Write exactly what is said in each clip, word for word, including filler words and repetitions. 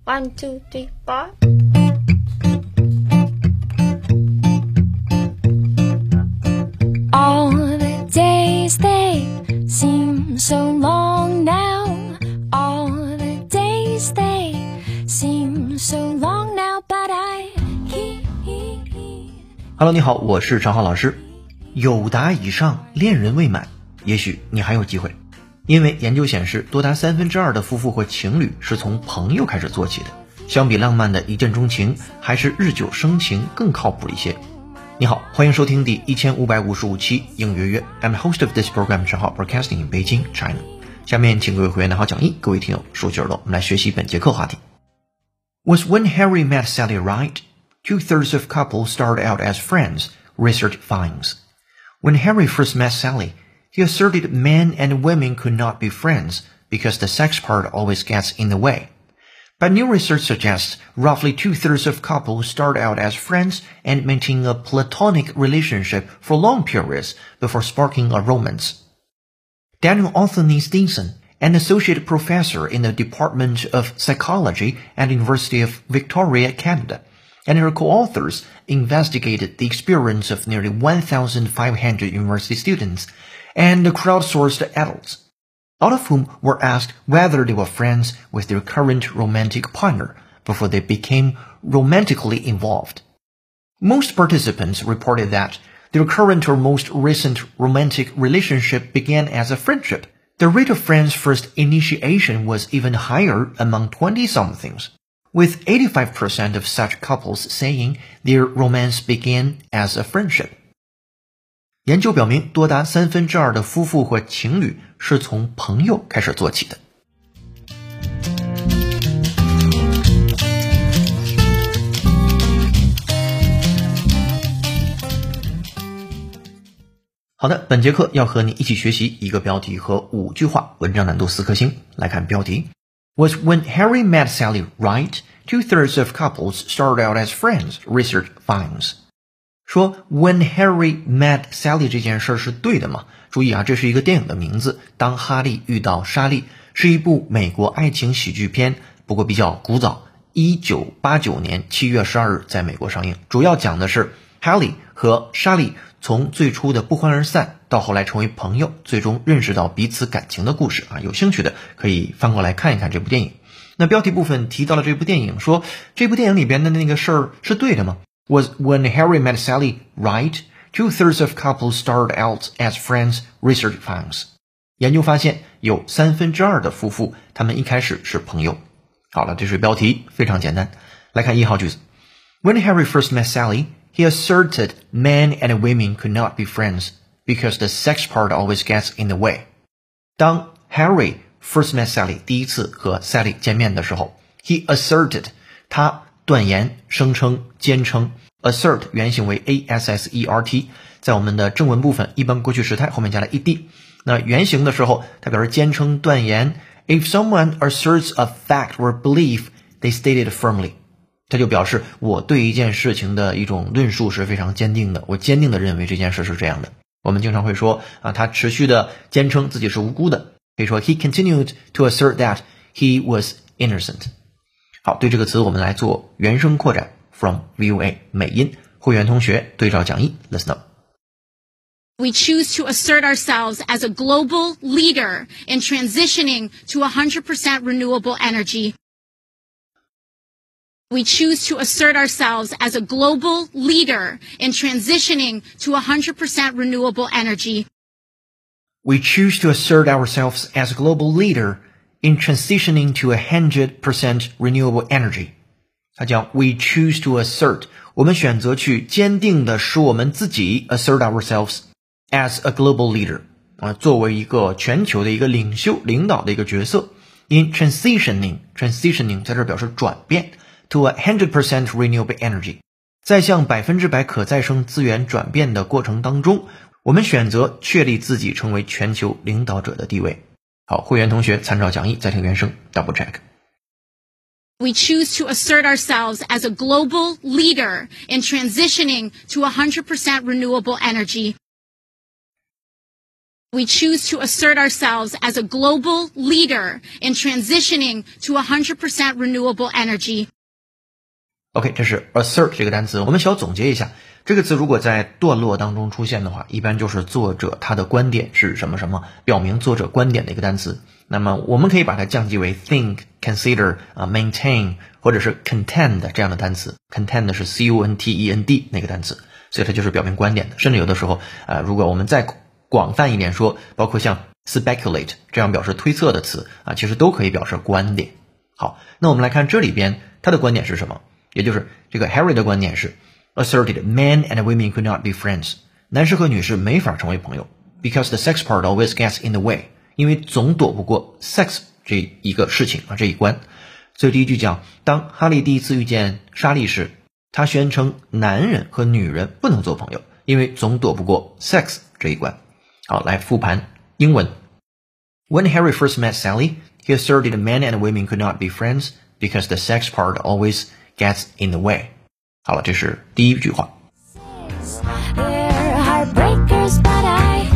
One, two, three, four. All the days they seem so long now. All the days they seem so long now, but I keep. Hello， 你好，我是常浩老师。有达以上，恋人未满，也许你还有机会。因为研究显示，多达三分之二的夫妇或情侣是从朋友开始做起的。相比浪漫的一见钟情，还是日久生情更靠谱一些。你好，欢迎收听第一千五百五十五期应约约。I'm the host of this program, 常浩 broadcasting in Beijing, China. 下面请各位会员拿好讲义，各位听友竖起耳朵，我们来学习本节课话题。Was when Harry met Sally right? Two-thirds of couples start out as friends, research finds. When Harry first met Sally, he asserted men and women could not be friends because the sex part always gets in the way. But new research suggests roughly two-thirds of couples start out as friends and maintain a platonic relationship for long periods before sparking a romance. Daniel Anthony Stinson, an associate professor in the Department of Psychology at the University of Victoria, Canada, and her co-authors investigated the experience of nearly one thousand five hundred university students and crowdsourced adults, all of whom were asked whether they were friends with their current romantic partner before they became romantically involved. Most participants reported that their current or most recent romantic relationship began as a friendship. The rate of friends' first initiation was even higher among twenty-somethings, with eighty-five percent of such couples saying their romance began as a friendship. 研究表明，多达三分之二的夫妇或情侣是从朋友开始做起的。好的，本节课要和你一起学习一个标题和五句话，文章难度四颗星。来看标题 Was when Harry met Sally right? Two-thirds of couples start out as friends, research finds. 说 when Harry met Sally 这件事是对的吗？注意啊，这是一个电影的名字，当哈利遇到莎莉，是一部美国爱情喜剧片，不过比较古早，一九八九年七月十二日在美国上映。主要讲的是哈利和莎莉从最初的不欢而散到后来成为朋友，最终认识到彼此感情的故事啊。有兴趣的可以翻过来看一看这部电影。那标题部分提到了这部电影，说这部电影里边的那个事儿是对的吗？ Was when Harry met Sally right? Two-thirds of couples start out as friends, research finds. 研究发现有三分之二的夫妇他们一开始是朋友。好了，这是标题，非常简单。来看一号句子 When Harry first met Sally, he asserted men and women could not be friends because the sex part always gets in the way. 当 Harry first met Sally 第一次和 Sally 见面的时候 he asserted 他断言声称坚称 assert 原型为 A S S E R T 在我们的正文部分一般过去时态后面加了 ed 那原型的时候它表示坚称断言 if someone asserts a fact or belief they state it firmly 它就表示我对一件事情的一种论述是非常坚定的我坚定的认为这件事是这样的我们经常会说啊，他持续的坚称自己是无辜的可以说 he continued to assert that he was innocent 好，对这个词我们来做原声扩展 from V O A 美音会员同学对照讲义 listen up We choose to assert ourselves as a global leader in transitioning to one hundred percent renewable energy. We choose to assert ourselves as a global leader in transitioning to one hundred percent renewable energy. We choose to assert ourselves as a global leader in transitioning to one hundred percent renewable energy. 它叫 We choose to assert 我们选择去坚定的使我们自己 assert ourselves as a global leader 啊，作为一个全球的一个领袖领导的一个角色 in transitioning transitioning 在这表示转变 to one hundred percent renewable energy 在向百分之百可再生资源转变的过程当中我们选择确立自己成为全球领导者的地位好，会员同学参照讲义再听原声 double check We choose to assert ourselves as a global leader in transitioning to one hundred percent renewable energy. We choose to assert ourselves as a global leader in transitioning to one hundred percent renewable energy. OK， 这是 assert 这个单词，我们小总结一下，这个词如果在段落当中出现的话，一般就是作者他的观点是什么什么，表明作者观点的一个单词。那么我们可以把它降级为 think、consider、uh, maintain 或者是 contend 这样的单词。contend 是 C O N T E N D 那个单词，所以它就是表明观点的。甚至有的时候，呃，如果我们再广泛一点说，包括像 speculate 这样表示推测的词啊，其实都可以表示观点。好，那我们来看这里边他的观点是什么？也就是这个 Harry 的观点是 asserted men and women could not be friends， 男士和女士没法成为朋友 because the sex part always gets in the way， 因为总躲不过 sex 这一个事情啊，这一关。所以第一句讲，当哈利第一次遇见莎莉时，他宣称男人和女人不能做朋友，因为总躲不过 sex 这一关。好，来复盘英文。When Harry first met Sally, he asserted men and women could not be friends because the sex part always gets in the way. 好了，这是第一句话。 They're heartbreakers, but I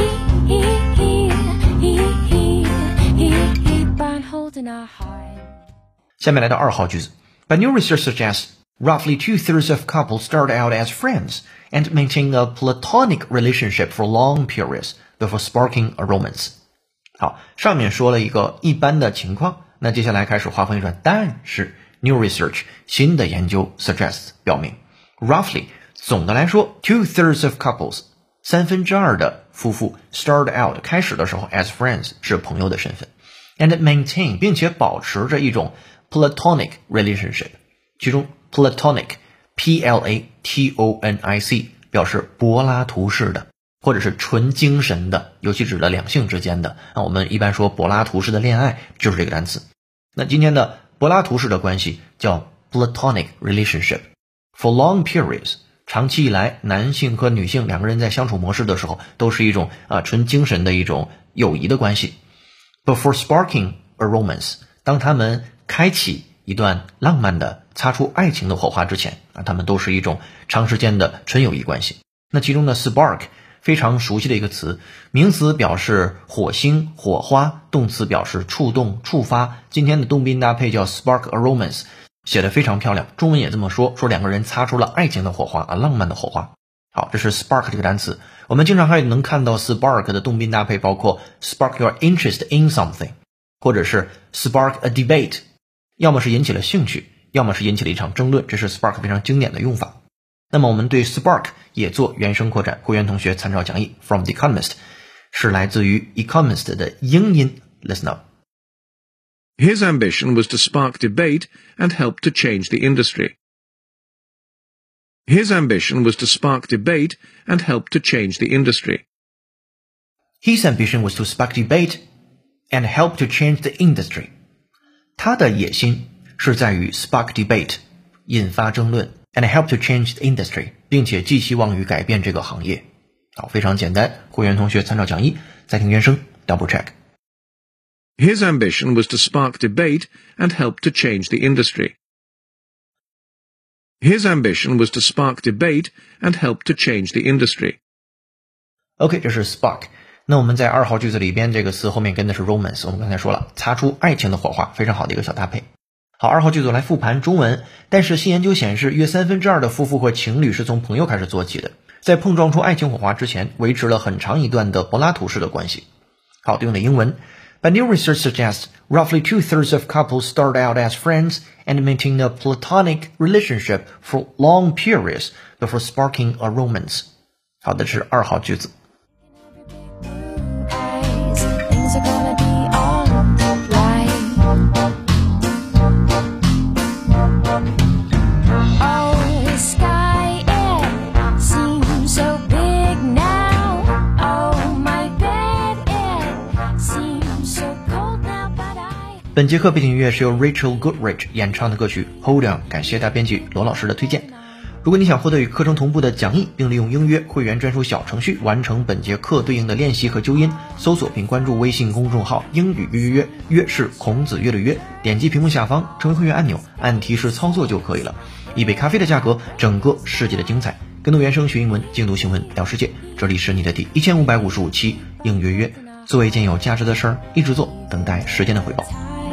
keep on holding our heart. 下面来到二号句子。But new research suggests roughly two-thirds of couples start out as friends and maintain a platonic relationship for long periods before sparking a romance. 好，上面说了一个一般的情况，那接下来开始话锋一转，但是 new research 新的研究 suggests 表明 roughly 总的来说 two-thirds of couples 三分之二的夫妇 start out 开始的时候 as friends 是朋友的身份 and maintain 并且保持着一种 platonic relationship， 其中 platonic P L A T O N I C 表示柏拉图式的或者是纯精神的，尤其指的两性之间的啊，我们一般说柏拉图式的恋爱就是这个单词。那今天的柏拉图式的关系叫 platonic relationship for long periods， 长期以来男性和女性两个人在相处模式的时候都是一种啊纯精神的一种友谊的关系。Before sparking a romance， 当他们开启一段浪漫的擦出爱情的火花之前啊，他们都是一种长时间的纯友谊关系。那其中的 spark 非常熟悉的一个词，名词表示火星火花，动词表示触动触发。今天的动宾搭配叫 spark a romance， 写得非常漂亮，中文也这么说，说两个人擦出了爱情的火花啊，浪漫的火花。好，这是 spark 这个单词，我们经常还能看到 spark 的动宾搭配包括 spark your interest in something， 或者是 spark a debate， 要么是引起了兴趣，要么是引起了一场争论，这是 spark 非常经典的用法。那么我们对 spark 也做原声扩展，会员同学参照讲义 from the Economist， 是来自于 Economist 的英音 Listen up. His ambition was to spark debate and help to change the industry. His ambition was to spark debate and help to change the industry. His ambition was to spark debate and help to change the industry. 他的野心是在于 spark debate 引发争论 and help to change the industry 并且寄希望于改变这个行业。好，非常简单，会员同学参照讲义再听原声 double check. His ambition was to spark debate and help to change the industry. His ambition was to spark debate and help to change the industry. OK， 这是 spark。那我们在二号句子里边，这个词后面跟的是 romance， 我们刚才说了，擦出爱情的火花，非常好的一个小搭配。好，二号句子来复盘中文。但是新研究显示，约三分之二的夫妇或情侣是从朋友开始做起的，在碰撞出爱情火花之前，维持了很长一段的柏拉图式的关系。好，对应的英文。But new research suggests roughly two-thirds of couples start out as friends and maintain a platonic relationship for long periods before sparking a romance. 好的，是二号句子。 Things are gonna be alright. Oh, the sky, it seems so big now. Oh, my bed, it seems so cold now, but I... 本节课背景音乐是由 Rachel Goodrich 演唱的歌曲 Hold On， 感谢大编辑罗老师的推荐。如果你想获得与课程同步的讲义，并利用英约会员专属小程序完成本节课对应的练习和纠音，搜索并关注微信公众号英语约约约，约是孔子约的约，点击屏幕下方成为会员按钮，按提示操作就可以了。一杯咖啡的价格，整个世界的精彩。 跟读原声学英文，精读新闻聊世界。这里是你的第一千五百五十五期应约约，做一件有价值的事儿，一直做，等待时间的回报。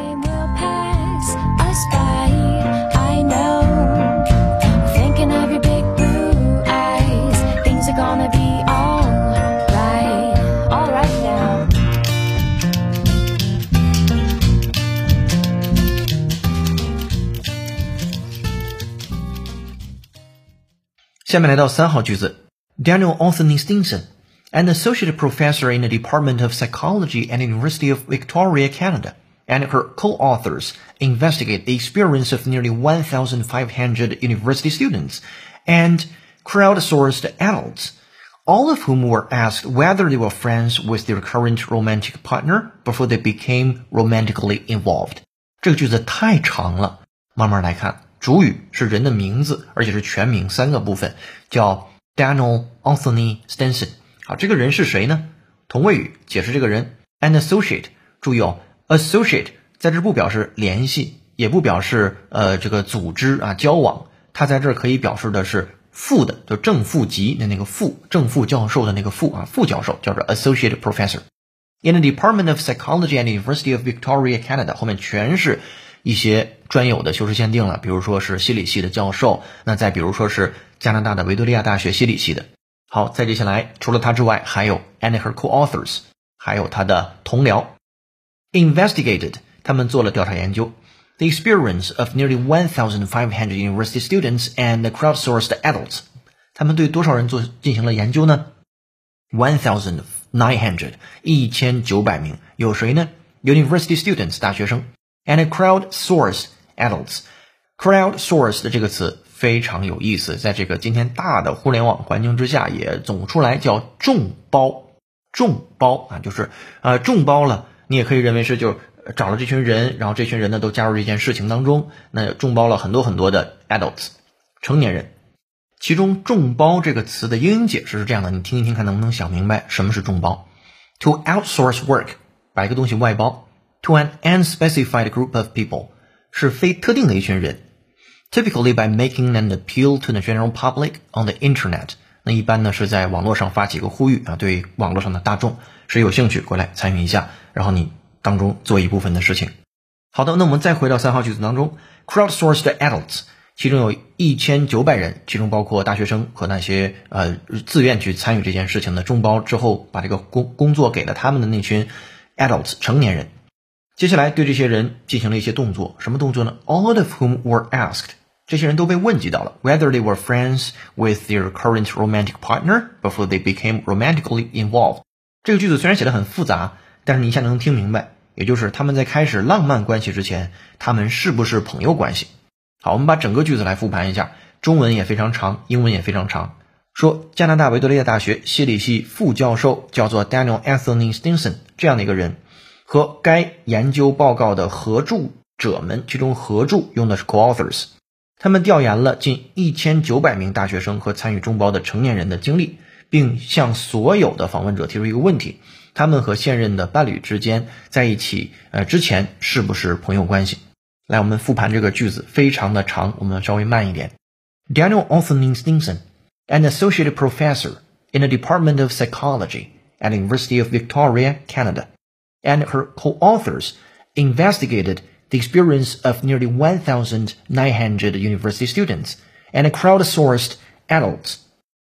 下面来到三号句子 Daniel Anthony Stinson, an associate professor in the Department of Psychology at the University of Victoria, Canada, and her co-authors investigate the experience of nearly one thousand five hundred university students and crowdsourced adults, all of whom were asked whether they were friends with their current romantic partner before they became romantically involved. 这个句子太长了，慢慢来看。主语是人的名字，而且是全名，三个部分，叫 Daniel Anthony Stinson。好，这个人是谁呢？同位语解释这个人 an associate， 注意哦 associate 在这不表示联系，也不表示呃这个组织啊交往，它在这儿可以表示的是副的，就正副级的那个副，正副教授的那个副啊，副教授叫做 associate professor。In the Department of Psychology at the University of Victoria, Canada， 后面全是一些专有的修饰限定了，比如说是心理系的教授，那再比如说是加拿大的维多利亚大学心理系的。好，再接下来除了他之外，还有 and her co-authors， 还有他的同僚 investigated， 他们做了调查研究 the experience of nearly one thousand five hundred university students and crowdsourced adults， 他们对多少人做进行了研究呢？ one thousand nine hundred， 一千九百名，有谁呢？ University students 大学生and crowdsourced adults. Crowdsourced 这个词非常有意思，在这个今天大的互联网环境之下也总出来叫众包。众包啊，就是呃众包了，你也可以认为是就找了这群人，然后这群人呢都加入这件事情当中，那众包了很多很多的 adults 成年人。其中众包这个词的英英解释是这样的，你听一听看能不能想明白什么是众包。To outsource work， 把一个东西外包To an unspecified group of people 是非特定的一群人 Typically by making an appeal to the general public on the internet 那一般呢是在网络上发起一个呼吁啊，对网络上的大众谁有兴趣过来参与一下，然后你当中做一部分的事情。好的，那我们再回到三号句子当中 Crowdsourced adults 其中有一千九百人，其中包括大学生和那些呃自愿去参与这件事情的众包之后把这个工工作给了他们的那群 adults 成年人。接下来对这些人进行了一些动作，什么动作呢？ All of whom were asked， 这些人都被问及到了 whether they were friends with their current romantic partner before they became romantically involved。 这个句子虽然写得很复杂，但是你一下能听明白，也就是他们在开始浪漫关系之前，他们是不是朋友关系。好，我们把整个句子来复盘一下，中文也非常长，英文也非常长。说加拿大维多利亚大学心理系副教授叫做 Daniel Anthony Stinson 这样的一个人，和该研究报告的合著者们，其中合著用的是 co-authors， 他们调研了近一千九百名大学生和参与众包的成年人的经历，并向所有的访问者提出一个问题，他们和现任的伴侣之间在一起呃之前是不是朋友关系。来，我们复盘这个句子非常的长，我们稍微慢一点。 Daniel Anthony Stinson, an associate professor in the Department of Psychology at the University of Victoria, Canada, and her co-authors investigated the experience of nearly one thousand nine hundred university students and crowdsourced adults,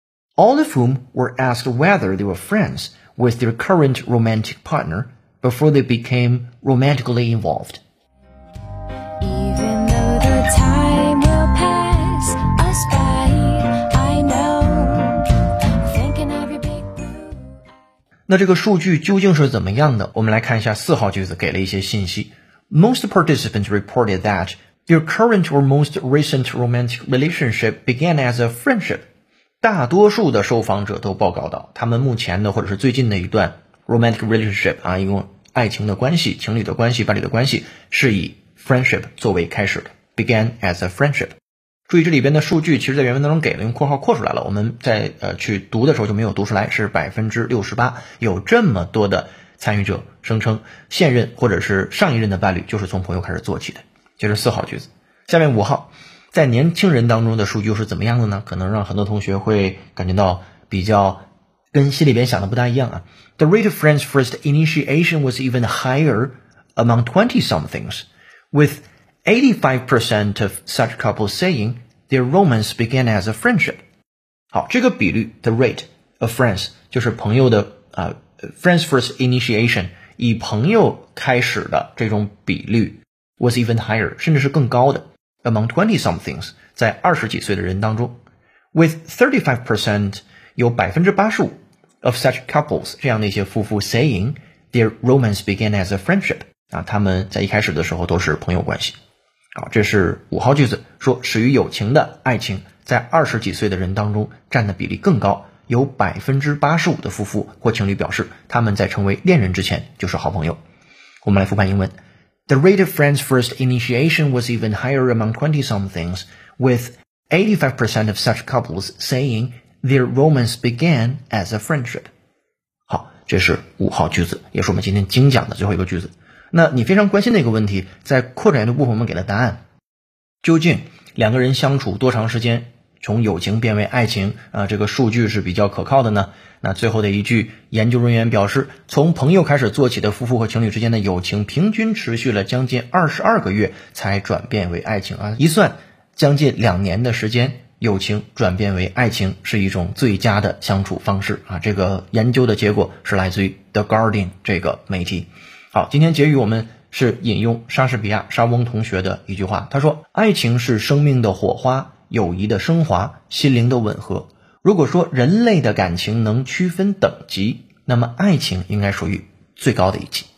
all of whom were asked whether they were friends with their current romantic partner before they became romantically involved. Even though the time will pass us by, I know, thinking of your big blue. 那这个数据究竟是怎么样的？我们来看一下四号句子给了一些信息。Most participants reported that their current or most recent romantic relationship began as a friendship. 大多数的受访者都报告到，他们目前的或者是最近的一段 romantic relationship 啊，一共爱情的关系、情侣的关系、伴侣的关系是以 friendship 作为开始的 began as a friendship。 注意这里边的数据其实在原文当中给了，用括号括出来了，我们在呃去读的时候就没有读出来，是 百分之六十八， 有这么多的参与者声称现任或者是上一任的伴侣就是从朋友开始做起的。接着四号句子，下面五号， 在年轻人当中的数据又是怎么样的呢？可能让很多同学会感觉到比较跟心里边想的不大一样啊。The rate of friends' first initiation was even higher among twenty-somethings, with eighty-five percent of such couples saying their romance began as a friendship. 好，这个比率 the rate of friends 就是朋友的啊、呃、friends first initiation 以朋友开始的这种比率 was even higher 甚至是更高的 among twenty-somethings 在二十几岁的人当中 with thirty-five percent 有 百分之八十五 of such couples 这样的一些夫妇 saying their romance began as a friendship 啊，他们在一开始的时候都是朋友关系。好，这是五号句子，说始于友情的爱情在二十几岁的人当中占的比例更高，有 百分之八十五 的夫妇或情侣表示他们在成为恋人之前就是好朋友。我们来复盘英文。The rate of friends' first initiation was even higher among twenty-somethings, with eighty-five percent of such couples saying their romance began as a friendship. 好，这是五号句子，也是我们今天精讲的最后一个句子。那你非常关心的一个问题，在扩展阅读部分我们给了答案。究竟两个人相处多长时间从友情变为爱情啊、呃，这个数据是比较可靠的呢？那最后的一句，研究人员表示，从朋友开始做起的夫妇和情侣之间的友情平均持续了将近二十二个月才转变为爱情啊，一算将近两年的时间，友情转变为爱情是一种最佳的相处方式啊。这个研究的结果是来自于 The Guardian 这个媒体。好，今天结语我们是引用莎士比亚莎翁同学的一句话，他说，爱情是生命的火花，友谊的升华，心灵的吻合。如果说人类的感情能区分等级，那么爱情应该属于最高的一级。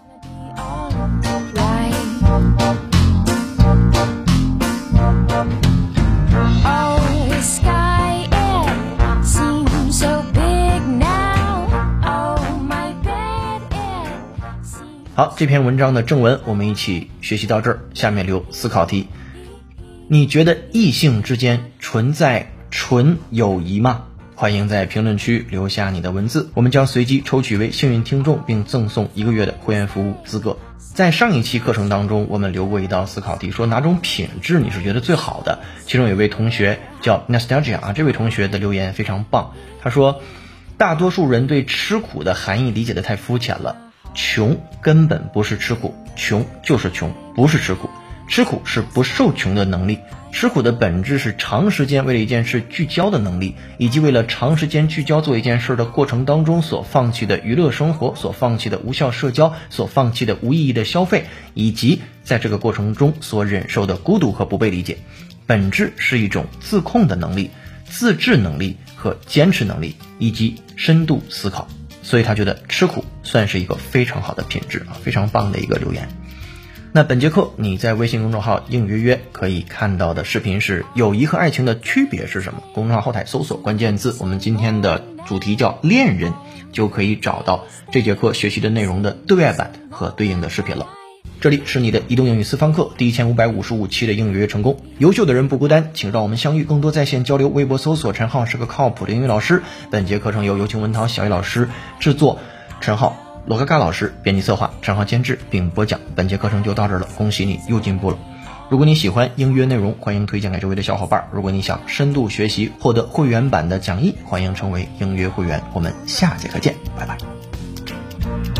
好，这篇文章的正文我们一起学习到这儿，下面留思考题。你觉得异性之间存在纯友谊吗？欢迎在评论区留下你的文字，我们将随机抽取为幸运听众，并赠送一个月的会员服务资格。在上一期课程当中，我们留过一道思考题，说哪种品质你是觉得最好的？其中有一位同学叫 Nostalgia 啊，这位同学的留言非常棒，他说，大多数人对吃苦的含义理解得太肤浅了。穷根本不是吃苦，穷就是穷，不是吃苦。吃苦是不受穷的能力，吃苦的本质是长时间为了一件事聚焦的能力，以及为了长时间聚焦做一件事的过程当中所放弃的娱乐生活，所放弃的无效社交，所放弃的无意义的消费，以及在这个过程中所忍受的孤独和不被理解。本质是一种自控的能力、自制能力和坚持能力，以及深度思考。所以他觉得吃苦算是一个非常好的品质啊，非常棒的一个留言。那本节课你在微信公众号应约约可以看到的视频是友谊和爱情的区别是什么？公众号后台搜索关键字，我们今天的主题叫恋人，就可以找到这节课学习的内容的对外版和对应的视频了。这里是你的移动英语私房课第一千五百五十五期的应约约成功。优秀的人不孤单，请让我们相遇，更多在线交流。微博搜索陈浩是个靠谱的英语老师。本节课程由有请文涛小艺老师制作，陈浩罗嘎嘎老师编辑策划，陈浩监制并播讲。本节课程就到这儿了，恭喜你又进步了。如果你喜欢应约内容，欢迎推荐给周围的小伙伴。如果你想深度学习，获得会员版的讲义，欢迎成为应约会员。我们下节课见，拜拜。